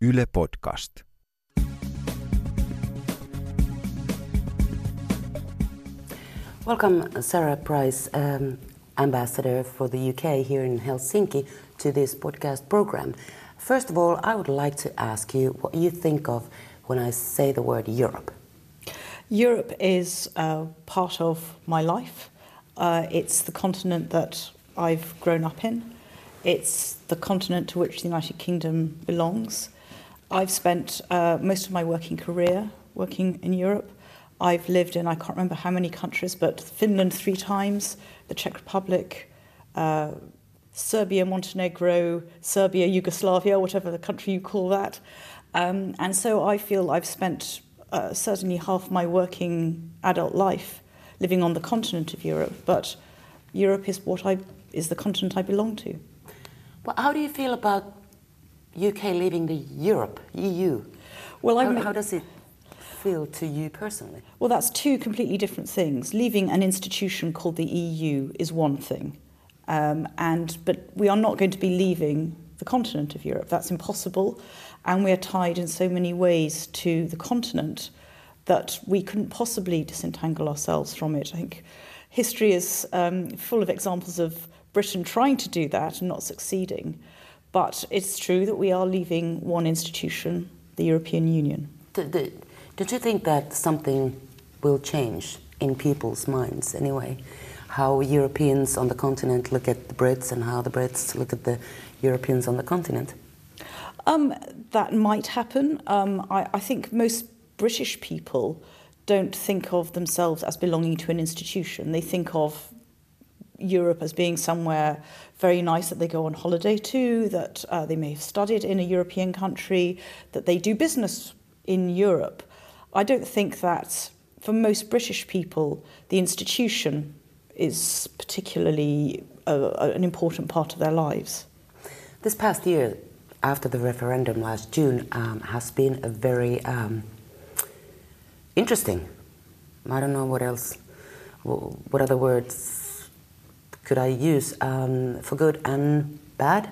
Yle Podcast. Welcome, Sarah Price, Ambassador for the UK here in Helsinki, to this podcast program. First of all, I would like to ask you what you think of when I say the word Europe. Europe is part of my life. It's the continent that I've grown up in. It's the continent to which the United Kingdom belongs. I've spent most of my working career working in Europe. I've lived in, I can't remember how many countries, but Finland 3 times, the Czech Republic, Serbia, Montenegro, Serbia, Yugoslavia, whatever the country you call that. And so I feel I've spent certainly half my working adult life living on the continent of Europe, but Europe is the continent I belong to. Well, how do you feel about UK leaving the Europe, EU? Well, how does it feel to you personally? Well, that's 2 completely different things. Leaving an institution called the EU is one thing, but we are not going to be leaving the continent of Europe. That's impossible, and we are tied in so many ways to the continent that we couldn't possibly disentangle ourselves from it. I think history is full of examples of Britain trying to do that and not succeeding, but it's true that we are leaving one institution, the European Union. Don't you think that something will change in people's minds anyway? How Europeans on the continent look at the Brits and how the Brits look at the Europeans on the continent? That might happen. I think most British people don't think of themselves as belonging to an institution. They think of Europe as being somewhere very nice that they go on holiday to, that they may have studied in a European country, that they do business in Europe. I don't think that for most British people the institution is particularly an important part of their lives. This past year, after the referendum last June, has been a very interesting. I don't know what other words could I use for good and bad.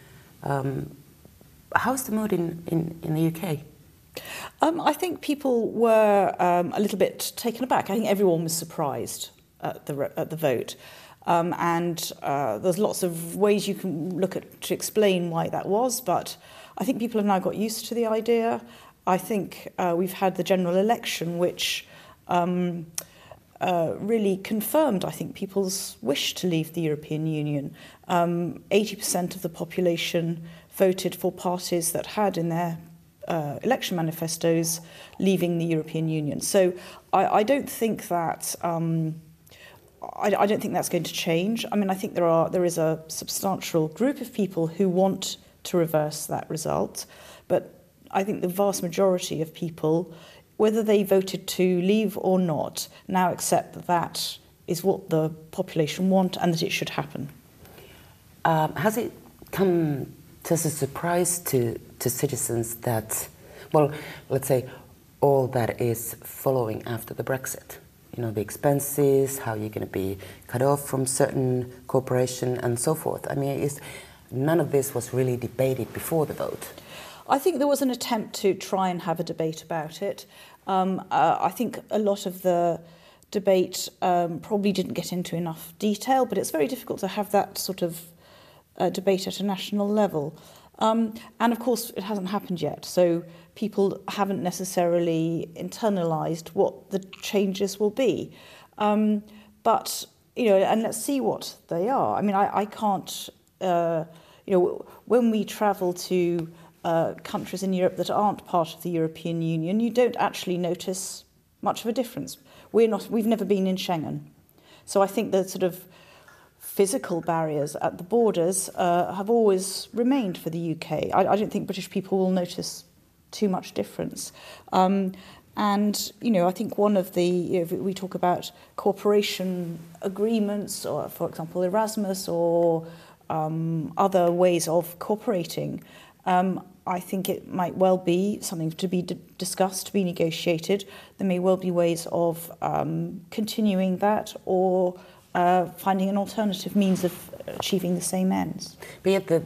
How's the mood in the UK? I think people were a little bit taken aback. I think everyone was surprised at the vote. And there's lots of ways you can look at to explain why that was, but I think people have now got used to the idea. I think we've had the general election, which really confirmed, I think, people's wish to leave the European Union. 80% of the population voted for parties that had in their election manifestos leaving the European Union. So I don't think that I don't think that's going to change. I mean, I think there is a substantial group of people who want to reverse that result, but I think the vast majority of people, whether they voted to leave or not, now accept that that is what the population want and that it should happen. Has it come as a surprise to citizens that, well, let's say, all that is following after the Brexit? You know, the expenses, how you're going to be cut off from certain corporation and so forth. I mean, none of this was really debated before the vote. I think there was an attempt to try and have a debate about it. I think a lot of the debate probably didn't get into enough detail, but it's very difficult to have that sort of debate at a national level. And of course, it hasn't happened yet, so people haven't necessarily internalised what the changes will be. But, you know, and let's see what they are. I mean, I can't, you know, when we travel to countries in Europe that aren't part of the European Union, you don't actually notice much of a difference. We've never been in Schengen. So I think the sort of physical barriers at the borders have always remained for the UK. I don't think British people will notice too much difference. And, you know, I think one of the, you know, we talk about cooperation agreements, or, for example, Erasmus, or other ways of cooperating. I think it might well be something to be discussed, to be negotiated. There may well be ways of continuing that, or finding an alternative means of achieving the same ends. But yet the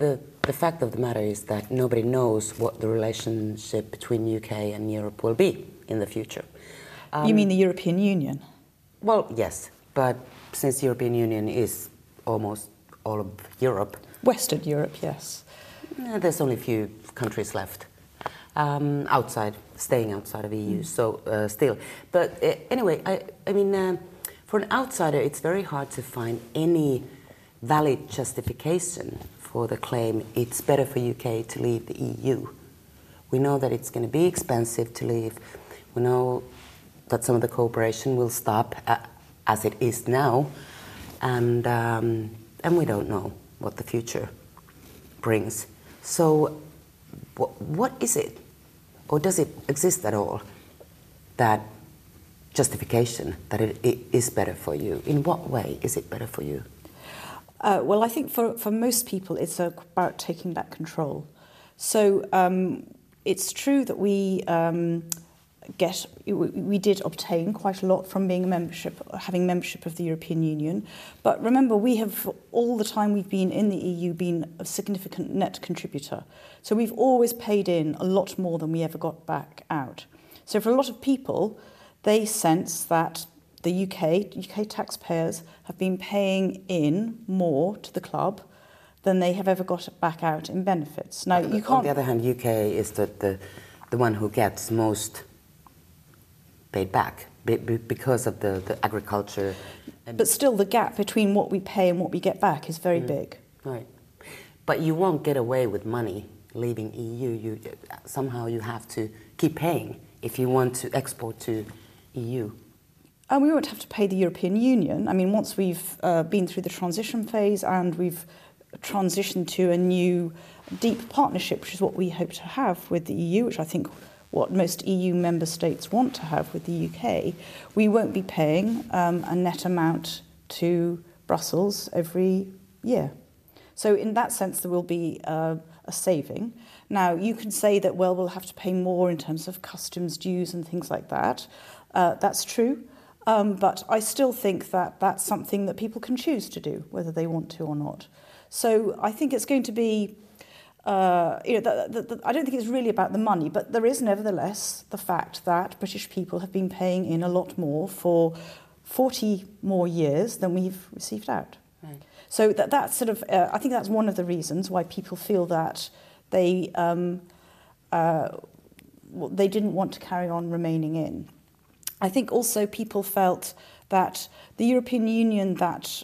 the fact of the matter is that nobody knows what the relationship between UK and Europe will be in the future. You mean the European Union? Well, yes, but since the European Union is almost all of Europe. Western Europe, yes. There's only a few countries left staying outside of EU, so still. But anyway, I mean, for an outsider, it's very hard to find any valid justification for the claim it's better for UK to leave the EU. We know that it's going to be expensive to leave. We know that some of the cooperation will stop as it is now, and we don't know what the future brings. So what is it, or does it exist at all, that justification that it is better for you? In what way is it better for you? Well, I think for most people it's about taking back control. So it's true that we did obtain quite a lot from having membership of the European Union. But remember, we have, all the time we've been in the EU, been a significant net contributor. So we've always paid in a lot more than we ever got back out. So for a lot of people, they sense that the UK taxpayers have been paying in more to the club than they have ever got back out in benefits. Now, you can't... On the other hand, UK is the one who gets most paid back because of the agriculture. But still, the gap between what we pay and what we get back is very big. Right. But you won't get away with money leaving EU. Somehow you have to keep paying if you want to export to EU. And we won't have to pay the European Union. I mean, once we've been through the transition phase and we've transitioned to a new deep partnership, which is what we hope to have with the EU, which I think what most EU member states want to have with the UK, we won't be paying a net amount to Brussels every year. So in that sense, there will be a saving. Now, you can say that, well, we'll have to pay more in terms of customs dues and things like that. That's true. But I still think that that's something that people can choose to do, whether they want to or not. So I think it's going to be, I don't think it's really about the money, but there is nevertheless the fact that British people have been paying in a lot more for 40 more years than we've received out. Right. So that's sort of, I think that's one of the reasons why people feel that they didn't want to carry on remaining in. I think also people felt that the European Union that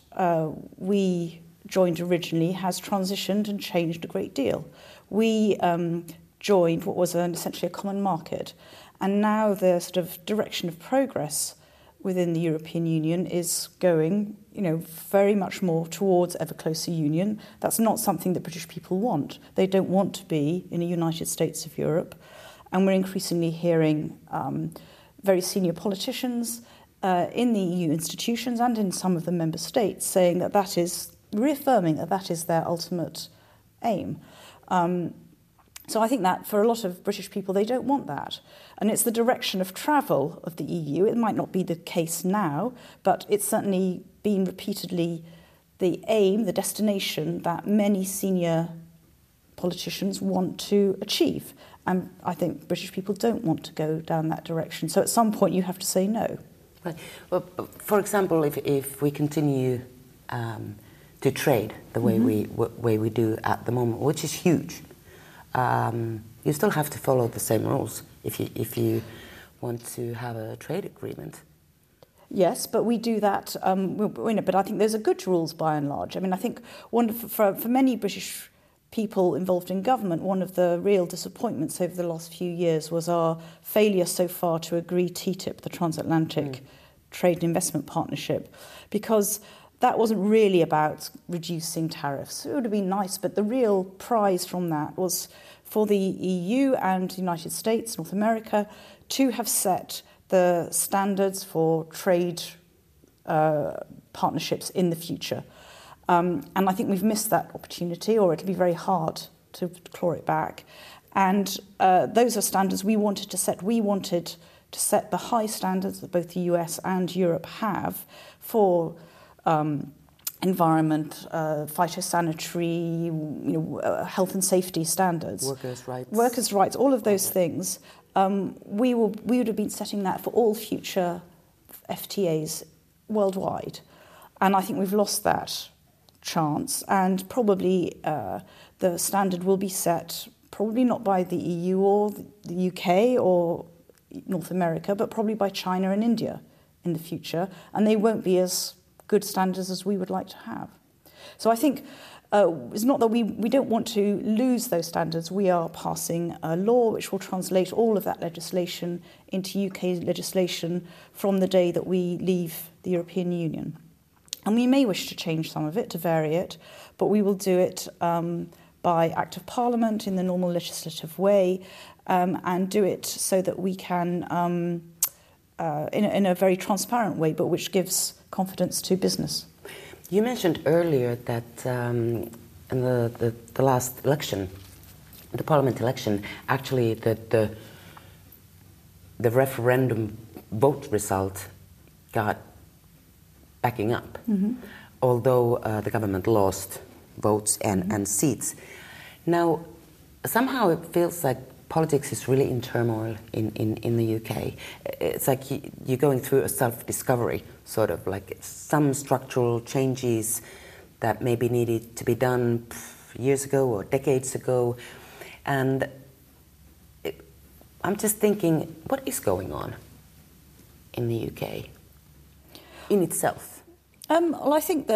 we joined originally has transitioned and changed a great deal. We joined what was essentially a common market, and now the sort of direction of progress within the European Union is going, very much more towards ever closer union. That's not something that British people want. They don't want to be in a United States of Europe, and we're increasingly hearing very senior politicians in the EU institutions and in some of the member states saying that is reaffirming that is their ultimate aim. So I think that for a lot of British people, they don't want that. And it's the direction of travel of the EU. It might not be the case now, but it's certainly been repeatedly the aim, the destination that many senior politicians want to achieve. And I think British people don't want to go down that direction. So at some point you have to say no. Right. Well, for example, if we continue to trade the way we do at the moment, which is huge, you still have to follow the same rules if you want to have a trade agreement. Yes, but we do that. But I think those are good rules by and large. I mean, I think for many British people involved in government, one of the real disappointments over the last few years was our failure so far to agree TTIP, the Transatlantic Trade and Investment Partnership, because that wasn't really about reducing tariffs. It would have been nice, but the real prize from that was for the EU and the United States, North America, to have set the standards for trade partnerships in the future. And I think we've missed that opportunity, or it'll be very hard to claw it back. And those are standards we wanted to set. We wanted to set the high standards that both the US and Europe have for environment, phytosanitary, health and safety standards, workers' rights, all of those things. We would have been setting that for all future FTAs worldwide, and I think we've lost that chance. And probably the standard will be set, probably not by the EU or the UK or North America, but probably by China and India in the future, and they won't be as good standards as we would like to have. So I think it's not that we don't want to lose those standards. We are passing a law which will translate all of that legislation into UK legislation from the day that we leave the European Union. And we may wish to change some of it, to vary it, but we will do it by Act of Parliament in the normal legislative way, and do it so that we can, in a very transparent way, but which gives confidence to business. You mentioned earlier that in the last election, the Parliament election, actually the referendum vote result got backing up, although the government lost votes and seats. Now, somehow it feels like politics is really in turmoil in the UK. It's like you're going through a self-discovery, sort of like some structural changes that maybe needed to be done years ago or decades ago. And I'm just thinking, what is going on in the UK in itself? Well, I think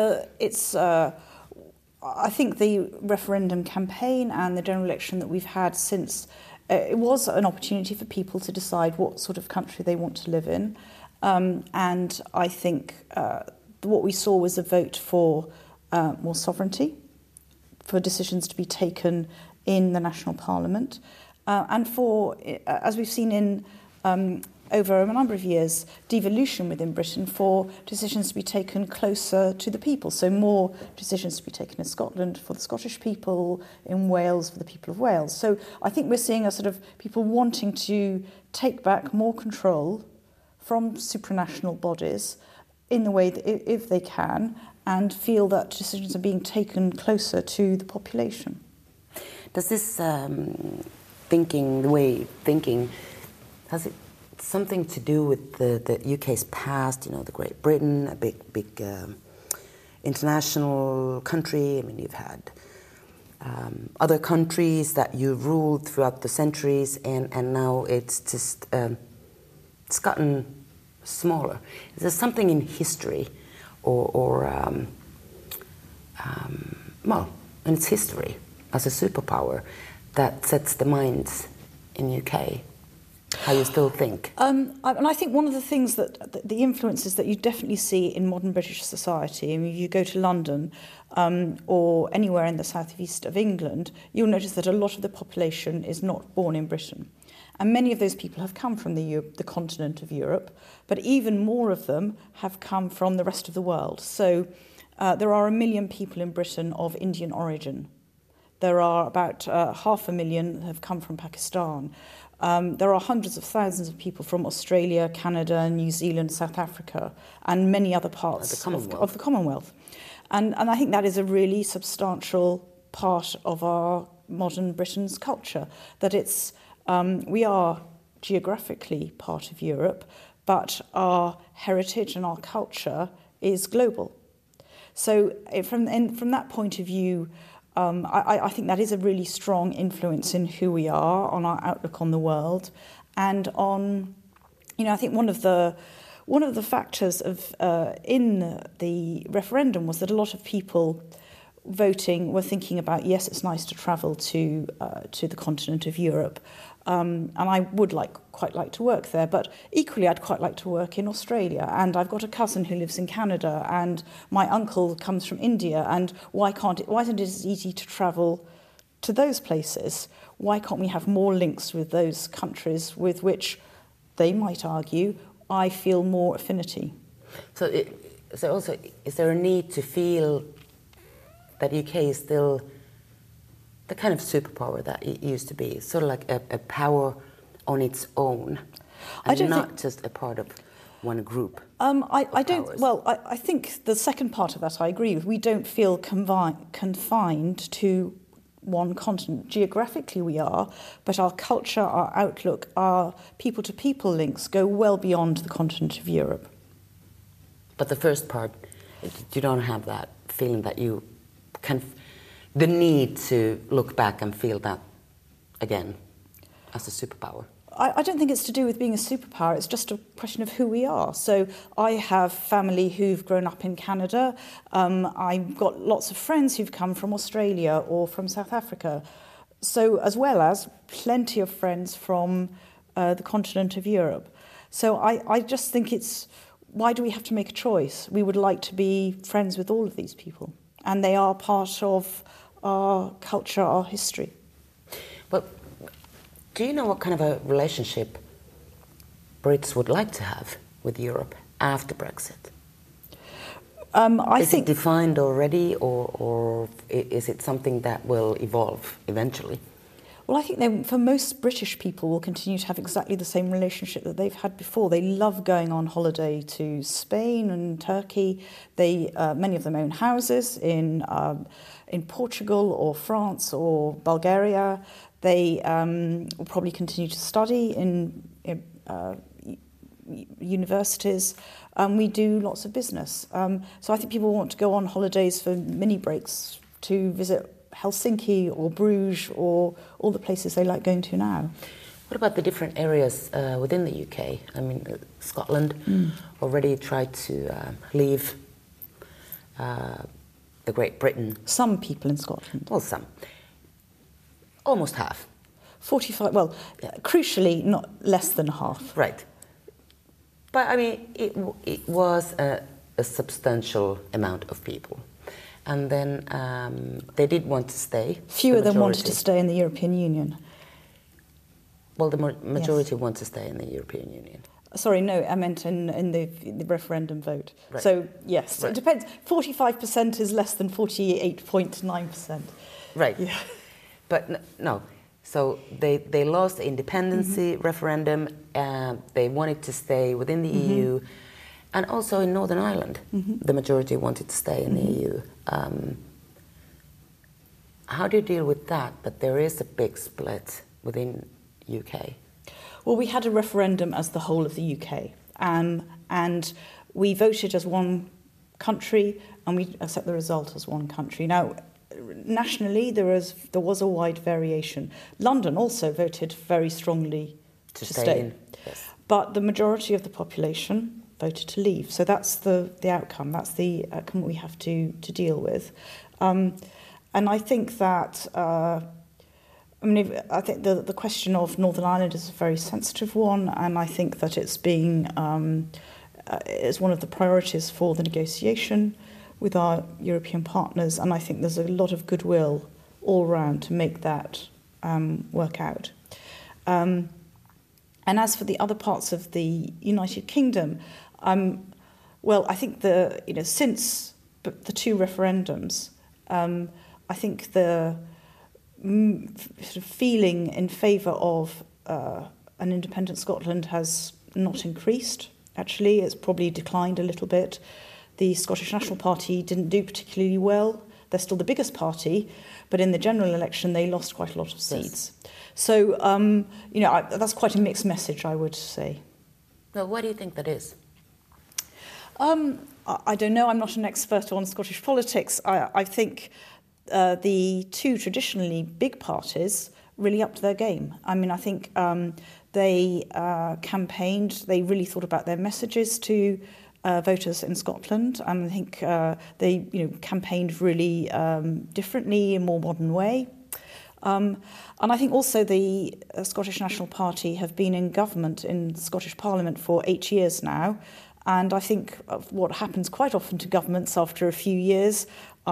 I think the referendum campaign and the general election that we've had since, it was an opportunity for people to decide what sort of country they want to live in. And I think what we saw was a vote for more sovereignty, for decisions to be taken in the national parliament, and for, as we've seen in over a number of years, devolution within Britain for decisions to be taken closer to the people. So more decisions to be taken in Scotland for the Scottish people, in Wales for the people of Wales. So I think we're seeing a sort of people wanting to take back more control from supranational bodies in the way that if they can, and feel that decisions are being taken closer to the population. Does this thinking, has it something to do with the UK's past, the Great Britain, a big international country? I mean, you've had other countries that you've ruled throughout the centuries, and now it's just, it's gotten smaller. Is there something in history or in its history as a superpower that sets the minds in the UK? How you still think? And I think one of the things that the influences that you definitely see in modern British society, I mean, if you go to London or anywhere in the southeast of England, you'll notice that a lot of the population is not born in Britain. And many of those people have come from the continent of Europe, but even more of them have come from the rest of the world. So there are 1 million people in Britain of Indian origin. There are about 500,000 have come from Pakistan. There are hundreds of thousands of people from Australia, Canada, New Zealand, South Africa, and many other parts of the Commonwealth. And I think that is a really substantial part of our modern Britain's culture, that it's we are geographically part of Europe, but our heritage and our culture is global. So from that point of view, I think that is a really strong influence in who we are, on our outlook on the world, and on, I think one of the factors of in the referendum was that a lot of people voting were thinking about, yes, it's nice to travel to the continent of Europe, and I would quite like to work there, but equally I'd quite like to work in Australia, and I've got a cousin who lives in Canada, and my uncle comes from India, and why isn't it as easy to travel to those places? Why can't we have more links with those countries with which they might argue I feel more affinity? So also, is there a need to feel that UK is still the kind of superpower that it used to be, sort of like a power on its own, and not just a part of one group? I don't. powers? Well, I think the second part of that I agree with. We don't feel confined to one continent. Geographically we are, but our culture, our outlook, our people-to-people links go well beyond the continent of Europe. But the first part, you don't have that feeling that you can, the need to look back and feel that again as a superpower. I don't think it's to do with being a superpower, it's just a question of who we are. So I have family who've grown up in Canada, I've got lots of friends who've come from Australia or from South Africa, so as well as plenty of friends from the continent of Europe. So I just think it's, why do we have to make a choice? We would like to be friends with all of these people, and they are part of our culture, our history. But do you know what kind of a relationship Brits would like to have with Europe after Brexit? Is it defined already, or is it something that will evolve eventually? Well, I think for most British people will continue to have exactly the same relationship that they've had before. They love going on holiday to Spain and Turkey. Many of them own houses in Portugal or France or Bulgaria. They will probably continue to study in universities. We do lots of business. So I think people want to go on holidays for mini breaks to visit Helsinki or Bruges or all the places they like going to now. What about the different areas within the UK? I mean, Scotland already tried to leave the Great Britain. Some people in Scotland. Well, some. Almost half. 45, well, crucially, not less than half. Right. But, I mean, it was a substantial amount of people. And then they did want to stay. Fewer than wanted to stay in the European Union. Well, the majority want to stay in the European Union. Sorry, no, I meant in the referendum vote. Right. So, yes, Right. It depends. 45% is less than 48.9%. Right. Yeah. But no. So they lost the independency referendum. They wanted to stay within the EU. And also in Northern Ireland, the majority wanted to stay in the EU. How do you deal with that there is a big split within UK? Well, we had a referendum as the whole of the UK, and we voted as one country, and we accept the result as one country. Now, nationally, there was a wide variation. London also voted very strongly to stay. In. Yes. But the majority of the population voted to leave. So that's the outcome. That's the outcome we have to deal with. And I think that, I think the question of Northern Ireland is a very sensitive one, and I think that it's being is one of the priorities for the negotiation with our European partners, and I think there's a lot of goodwill all around to make that work out. And as for the other parts of the United Kingdom, well, I think since the two referendums, I think the sort of feeling in favour of an independent Scotland has not increased. Actually, it's probably declined a little bit. The Scottish National Party didn't do particularly well. They're still the biggest party, but in the general election, they lost quite a lot of seats. Yes. So, that's quite a mixed message, I would say. Well, why do you think that is? I don't know. I'm not an expert on Scottish politics. I think the two traditionally big parties really upped their game. I mean, I think they campaigned. They really thought about their messages to voters in Scotland, and I think they, campaigned really differently, in a more modern way. And I think also the Scottish National Party have been in government in the Scottish Parliament for 8 years now. And I think what happens quite often to governments after a few years,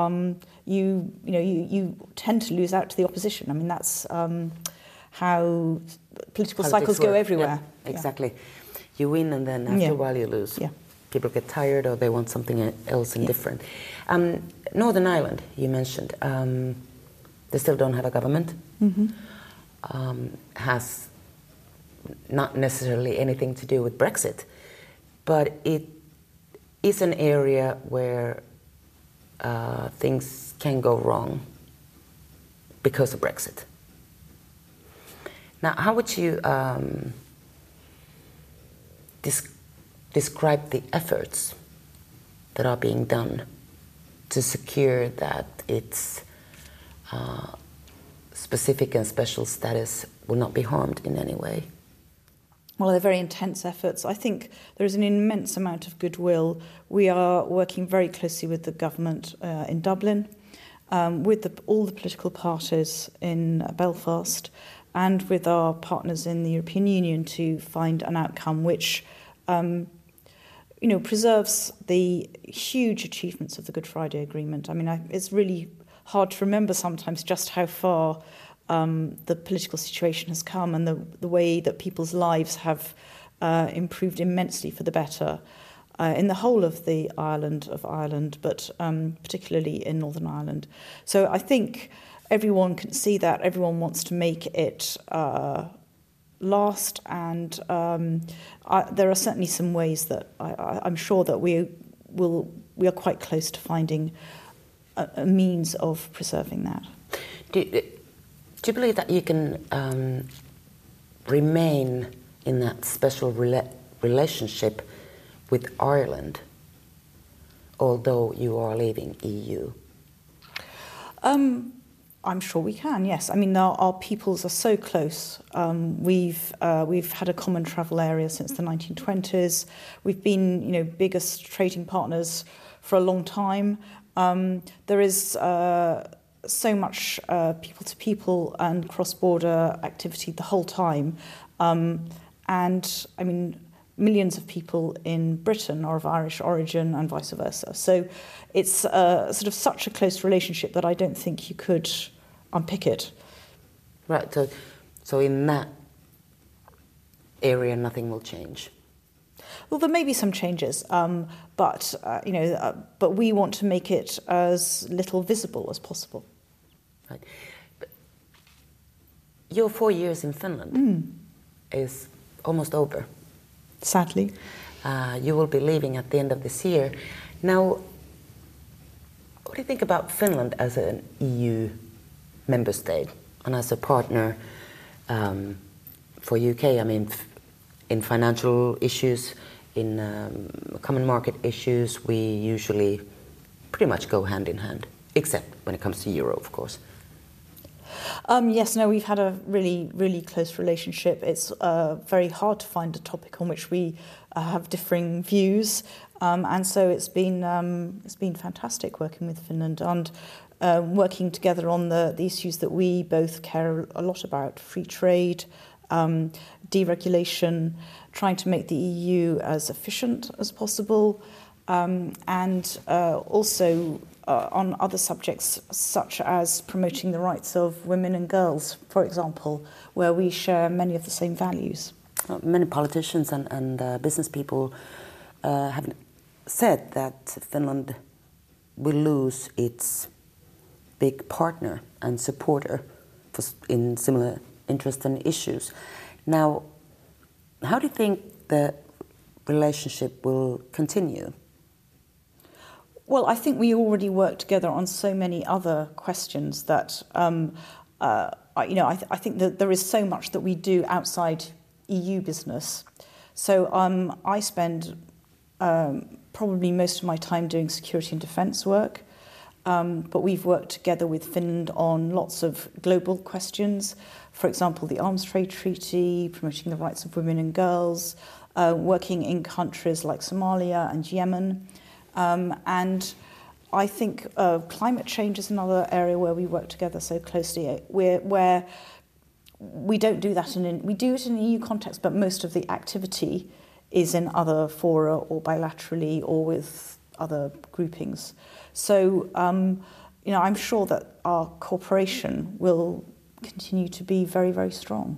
you tend to lose out to the opposition. I mean, that's how political cycles go everywhere. Yeah, exactly. You win, and then after a while you lose. Yeah. People get tired, or they want something else and different. Northern Ireland, you mentioned, they still don't have a government. Has not necessarily anything to do with Brexit. but it is an area where things can go wrong because of Brexit. Now, how would you describe the efforts that are being done to secure that its specific and special status will not be harmed in any way? Well, they're very intense efforts. I think there is an immense amount of goodwill. We are working very closely with the government in Dublin, with all the political parties in Belfast, and with our partners in the European Union to find an outcome which preserves the huge achievements of the Good Friday Agreement. I mean, it's really hard to remember sometimes just how far the political situation has come, and the way that people's lives have improved immensely for the better in the whole of the island of Ireland, but particularly in Northern Ireland. So I think everyone can see that. Everyone wants to make it last, and there are certainly some ways that I'm sure that we are quite close to finding a means of preserving that. Do you believe that you can remain in that special relationship with Ireland, although you are leaving EU? I'm sure we can, yes. I mean, our peoples are so close. We've had a common travel area since the 1920s. We've been, biggest trading partners for a long time. There is so much people-to-people and cross-border activity the whole time. And, I mean, millions of people in Britain are of Irish origin and vice versa. So it's sort of such a close relationship that I don't think you could unpick it. Right, so in that area nothing will change? Well, there may be some changes, but we want to make it as little visible as possible. Right. But your 4 years in Finland is almost over. Sadly. You will be leaving at the end of this year. Now, what do you think about Finland as an EU member state and as a partner for UK? I mean, in financial issues, in common market issues, we usually pretty much go hand in hand, except when it comes to euro, of course. Yes, no, we've had a really, really close relationship. It's very hard to find a topic on which we have differing views, and so it's been fantastic working with Finland and working together on the issues that we both care a lot about: free trade, deregulation, trying to make the EU as efficient as possible, and also on other subjects such as promoting the rights of women and girls, for example, where we share many of the same values. Many politicians and business people have said that Finland will lose its big partner and supporter in similar interests and issues. Now, how do you think the relationship will continue? Well, I think we already work together on so many other questions that, I think that there is so much that we do outside EU business. So I spend probably most of my time doing security and defence work, but we've worked together with Finland on lots of global questions. For example, the Arms Trade Treaty, promoting the rights of women and girls, working in countries like Somalia and Yemen. And I think climate change is another area where we work together so closely, where we don't do that we do it in an EU context, but most of the activity is in other fora or bilaterally or with other groupings. So, I'm sure that our cooperation will continue to be very, very strong.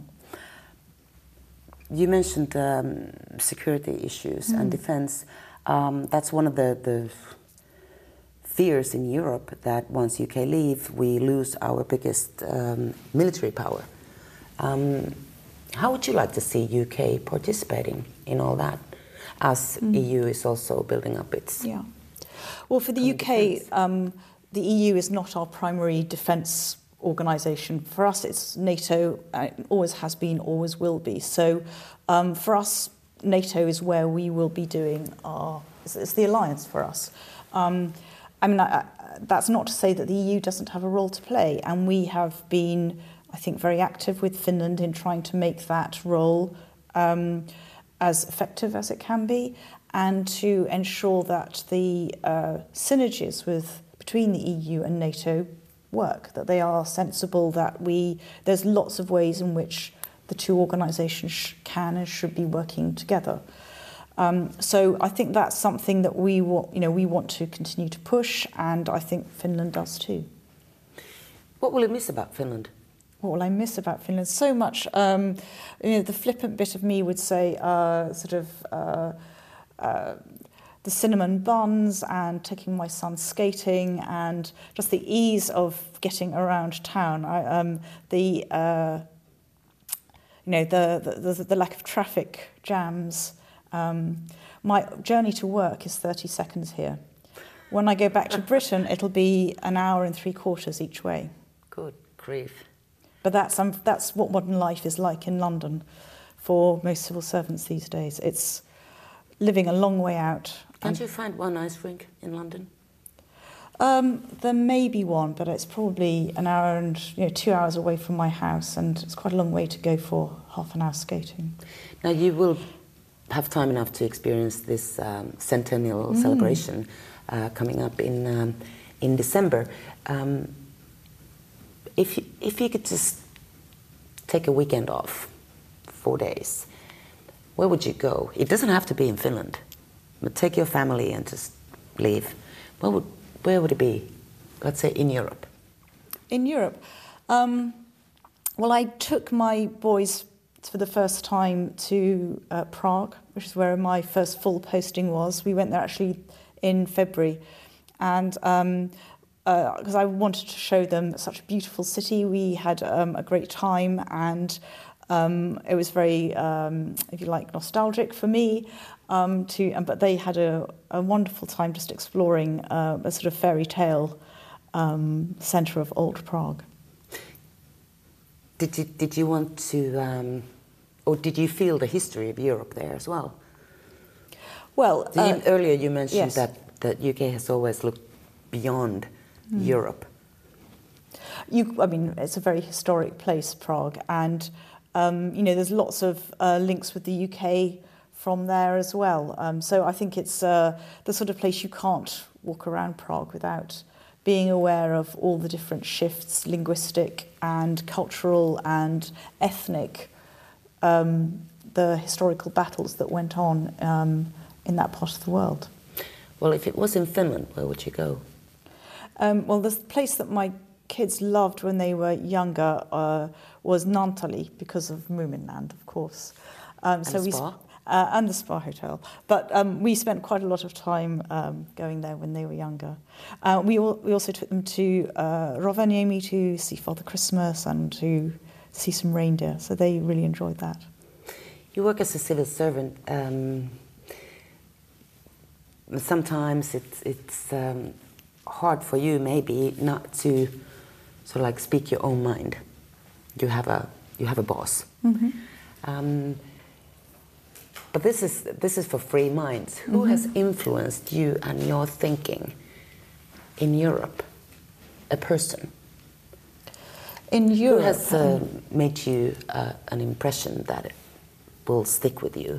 You mentioned security issues and defence. That's one of the fears in Europe, that once UK leave, we lose our biggest military power. How would you like to see UK participating in all that? as EU is also building up its... Yeah. Well, for the UK, the EU is not our primary defence organisation. For us, it's NATO, always has been, always will be. So for us, NATO is where we will be doing it's the alliance for us. That's not to say that the EU doesn't have a role to play, and we have been, I think, very active with Finland in trying to make that role as effective as it can be, and to ensure that the synergies between the EU and NATO work, that they are sensible, that there's lots of ways in which the two organisations can and should be working together. So I think that's something that we want to continue to push, and I think Finland does too. What will you miss about Finland? What will I miss about Finland? So much. The flippant bit of me would say the cinnamon buns and taking my son skating and just the ease of getting around town. The lack of traffic jams. My journey to work is 30 seconds here. When I go back to Britain, it'll be an hour and 3/4 each way. Good grief. But that's what modern life is like in London for most civil servants these days. It's living a long way out. Can't you find one ice rink in London? There may be one, but it's probably an hour and 2 hours away from my house, and it's quite a long way to go for half an hour skating. Now you will have time enough to experience this centennial celebration coming up in December. If you could just take a weekend off, 4 days, where would you go? It doesn't have to be in Finland, but take your family and just leave. Where would it be? Let's say in Europe. In Europe? Well, I took my boys for the first time to Prague, which is where my first full posting was. We went there actually in February, and because I wanted to show them such a beautiful city. We had a great time, and it was very, if you like, nostalgic for me. But they had a wonderful time just exploring a sort of fairy tale centre of old Prague. Did you want to, or did you feel the history of Europe there as well? Well, earlier you mentioned yes. that UK has always looked beyond Europe. It's a very historic place, Prague, and there's lots of links with the UK from there as well. So I think it's the sort of place you can't walk around Prague without being aware of all the different shifts, linguistic and cultural and ethnic, the historical battles that went on in that part of the world. Well, if it was in Finland, where would you go? Well, the place that my kids loved when they were younger was Naantali, because of Moominland, of course. And the spa? And the spa hotel. But we spent quite a lot of time going there when they were younger. We also took them to Rovaniemi to see Father Christmas and to see some reindeer, so they really enjoyed that. You work as a civil servant. Sometimes it's hard for you maybe not to sort of like speak your own mind. You have a boss. Mm-hmm. But this is for free minds. Who has influenced you and your thinking in Europe? A person. In Europe, who has made you an impression that it will stick with you?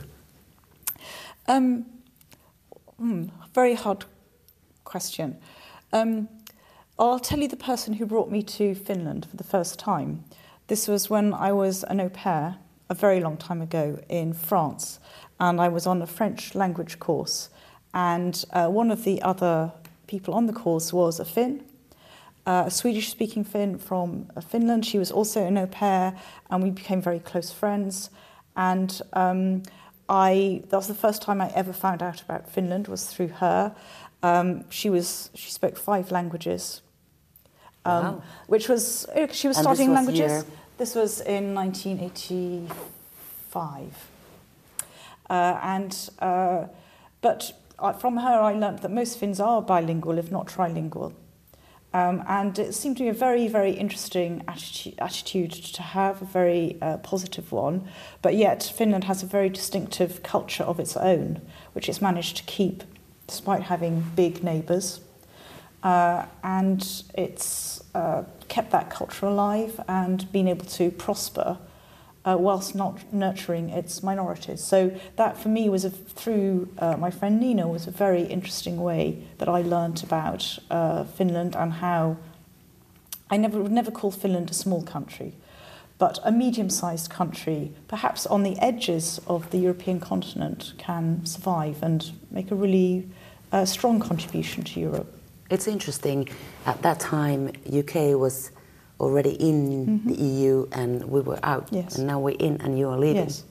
Very hard question. I'll tell you the person who brought me to Finland for the first time. This was when I was an au pair a very long time ago in France, and I was on a French language course, and one of the other people on the course was a Finn, a Swedish-speaking Finn from Finland. She was also an au pair, and we became very close friends. And that was the first time I ever found out about Finland, was through her. She spoke 5 languages, wow. Which was, she was and studying languages. Year? This was in 1985. But from her, I learnt that most Finns are bilingual, if not trilingual. And it seemed to be a very, very interesting attitude to have, a very positive one. But yet Finland has a very distinctive culture of its own, which it's managed to keep despite having big neighbours. And it's kept that culture alive and been able to prosper whilst not nurturing its minorities. So that for me was, through my friend Nina, was a very interesting way that I learnt about Finland and how I would never call Finland a small country, but a medium-sized country, perhaps on the edges of the European continent, can survive and make a really strong contribution to Europe. It's interesting. At that time, UK was already in the EU and we were out. Yes. And now we're in and you are leaving. Yes.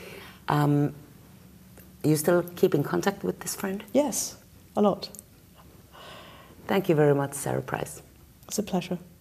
You still keep in contact with this friend? Yes, a lot. Thank you very much, Sarah Price. It's a pleasure.